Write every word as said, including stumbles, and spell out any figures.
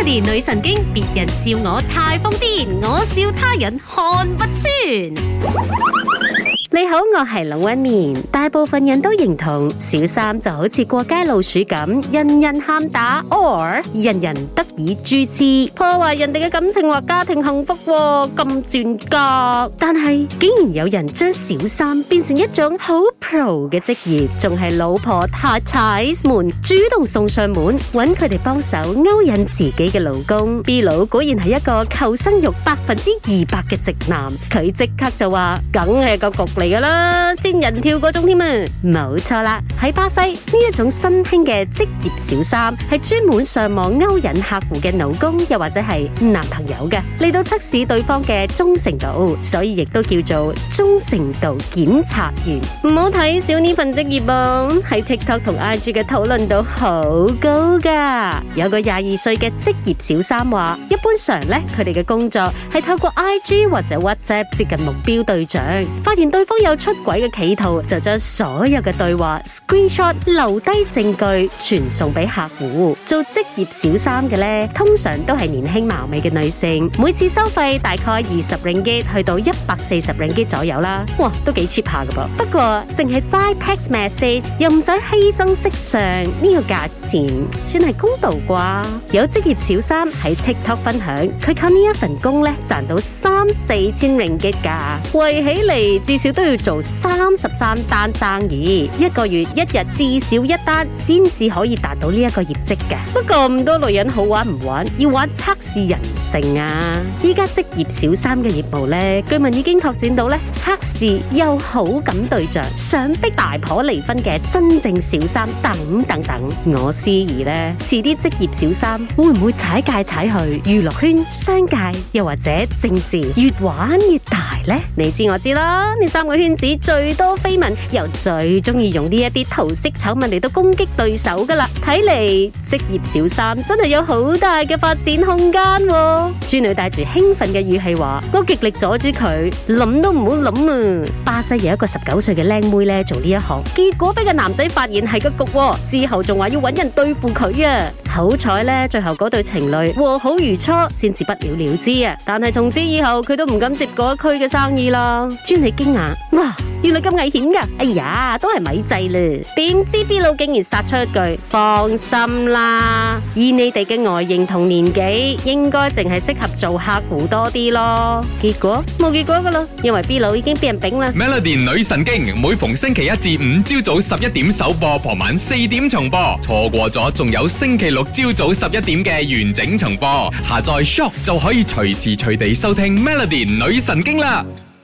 Melody 女神經，別人笑我太瘋癲，我笑他人看不穿。你好，我係龍紋敏。大部分人都認同小三就好似過街老鼠咁，人人喊打 or 人人得以誅之，破壞人哋嘅感情或家庭幸福，咁賤格。但係竟然有人將小三變成一種好 pro 嘅職業，仲係老婆太太們主動送上門，揾佢哋幫手勾引自己嘅老公。B 佬果然係一個求生欲百分之二百嘅直男，佢即刻就話梗係個局嚟噶啦，仙人跳嗰種添啊，冇錯啦。喺巴西呢一種新興嘅職業小三係專門上網勾引客戶嘅老公又或者係男朋友嘅，嚟到測試對方嘅忠誠度，所以亦都叫做忠誠度檢察員。唔好睇小呢份職業啊，喺 TikTok 同 I G 嘅討論度好高噶。有個廿二歲嘅職業小三話，一般上咧佢哋嘅工作係透過 I G 或者 WhatsApp 接近目標對象，發現對方有出軌嘅企圖，就將所有嘅對話 screenshot 留低證據傳送俾客戶。做職業小三嘅咧，通常都係年輕貌美嘅女性，每次收費大概二十 ringgit 去到一百四十 ringgit 左右啦。哇，都幾 cheap 下噶噃。不過淨係齋 text message 又唔使犧牲色相，呢個價錢算係公道啩？有職業小三喺 TikTok 分享，佢靠呢一份工咧賺到三四千 ringgit 噶，為起嚟至少都要做三十三單生意，一個月一日至少一單，先至可以達到呢一個業績嘅。不過咁多女人好玩唔玩？要玩測試人性啊！依家職業小三嘅業務咧，據聞已經拓展到咧測試有好感對象、想逼大婆離婚嘅真正小三等等等。我思疑咧，遲啲職業小三會唔會踩界踩去娛樂圈、商界又或者政治，越玩越大呢？你知我知啦，呢三個圈子最多緋聞，又最中意用呢一啲桃色醜聞嚟到攻擊對手噶啦。睇嚟職業小三真係有好大嘅發展空間喎。豬女帶住興奮嘅語氣話：我極力阻止佢，諗都唔好諗啊！巴西有一個十九歲嘅靚妹咧做呢一行，結果俾個男仔發現係個局，之後仲話要搵人對付佢啊！好彩咧，最後嗰對情侶和好如初，先至不了了之啊！但係從此以後，佢都唔敢接嗰一區嘅生意啦。專你驚訝，哇！原來咁危險噶！哎呀，都係咪制啦？點知 B 佬竟然殺出一句：放心啦，以你哋嘅外形同年紀，應該淨係適合做客戶多啲咯。結果冇結果噶啦，因為 B 佬已經俾人丙啦。 Melody 女神經每逢星期一至五朝早十一點首播，傍晚四點重播，錯過咗仲有星期六朝早十一點嘅完整重播。下載 Shock 就可以隨時隨地收聽 Melody 女神經啦。